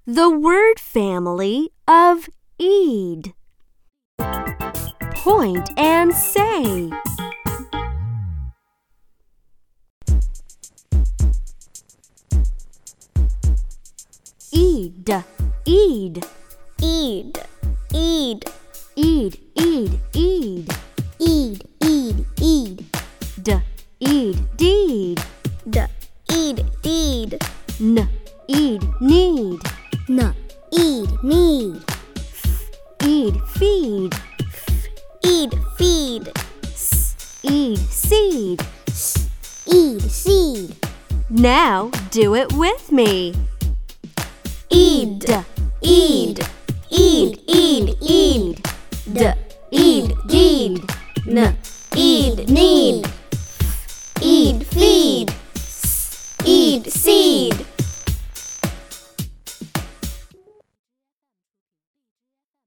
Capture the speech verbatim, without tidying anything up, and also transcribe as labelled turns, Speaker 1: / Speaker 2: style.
Speaker 1: the word family of eed. Point and say. Eed, eed,
Speaker 2: Eed, eed,
Speaker 1: eed, eed, eed.
Speaker 2: eed, eed, eed.
Speaker 1: D, eed, deed.
Speaker 2: D, eed, deed.
Speaker 1: N, eed, need.
Speaker 2: N, eed, need.
Speaker 1: Eed, feed.
Speaker 2: Eed, feed.
Speaker 1: S, eed, seed.
Speaker 2: S, eed, seed.
Speaker 1: Now do it with me.
Speaker 2: Eed.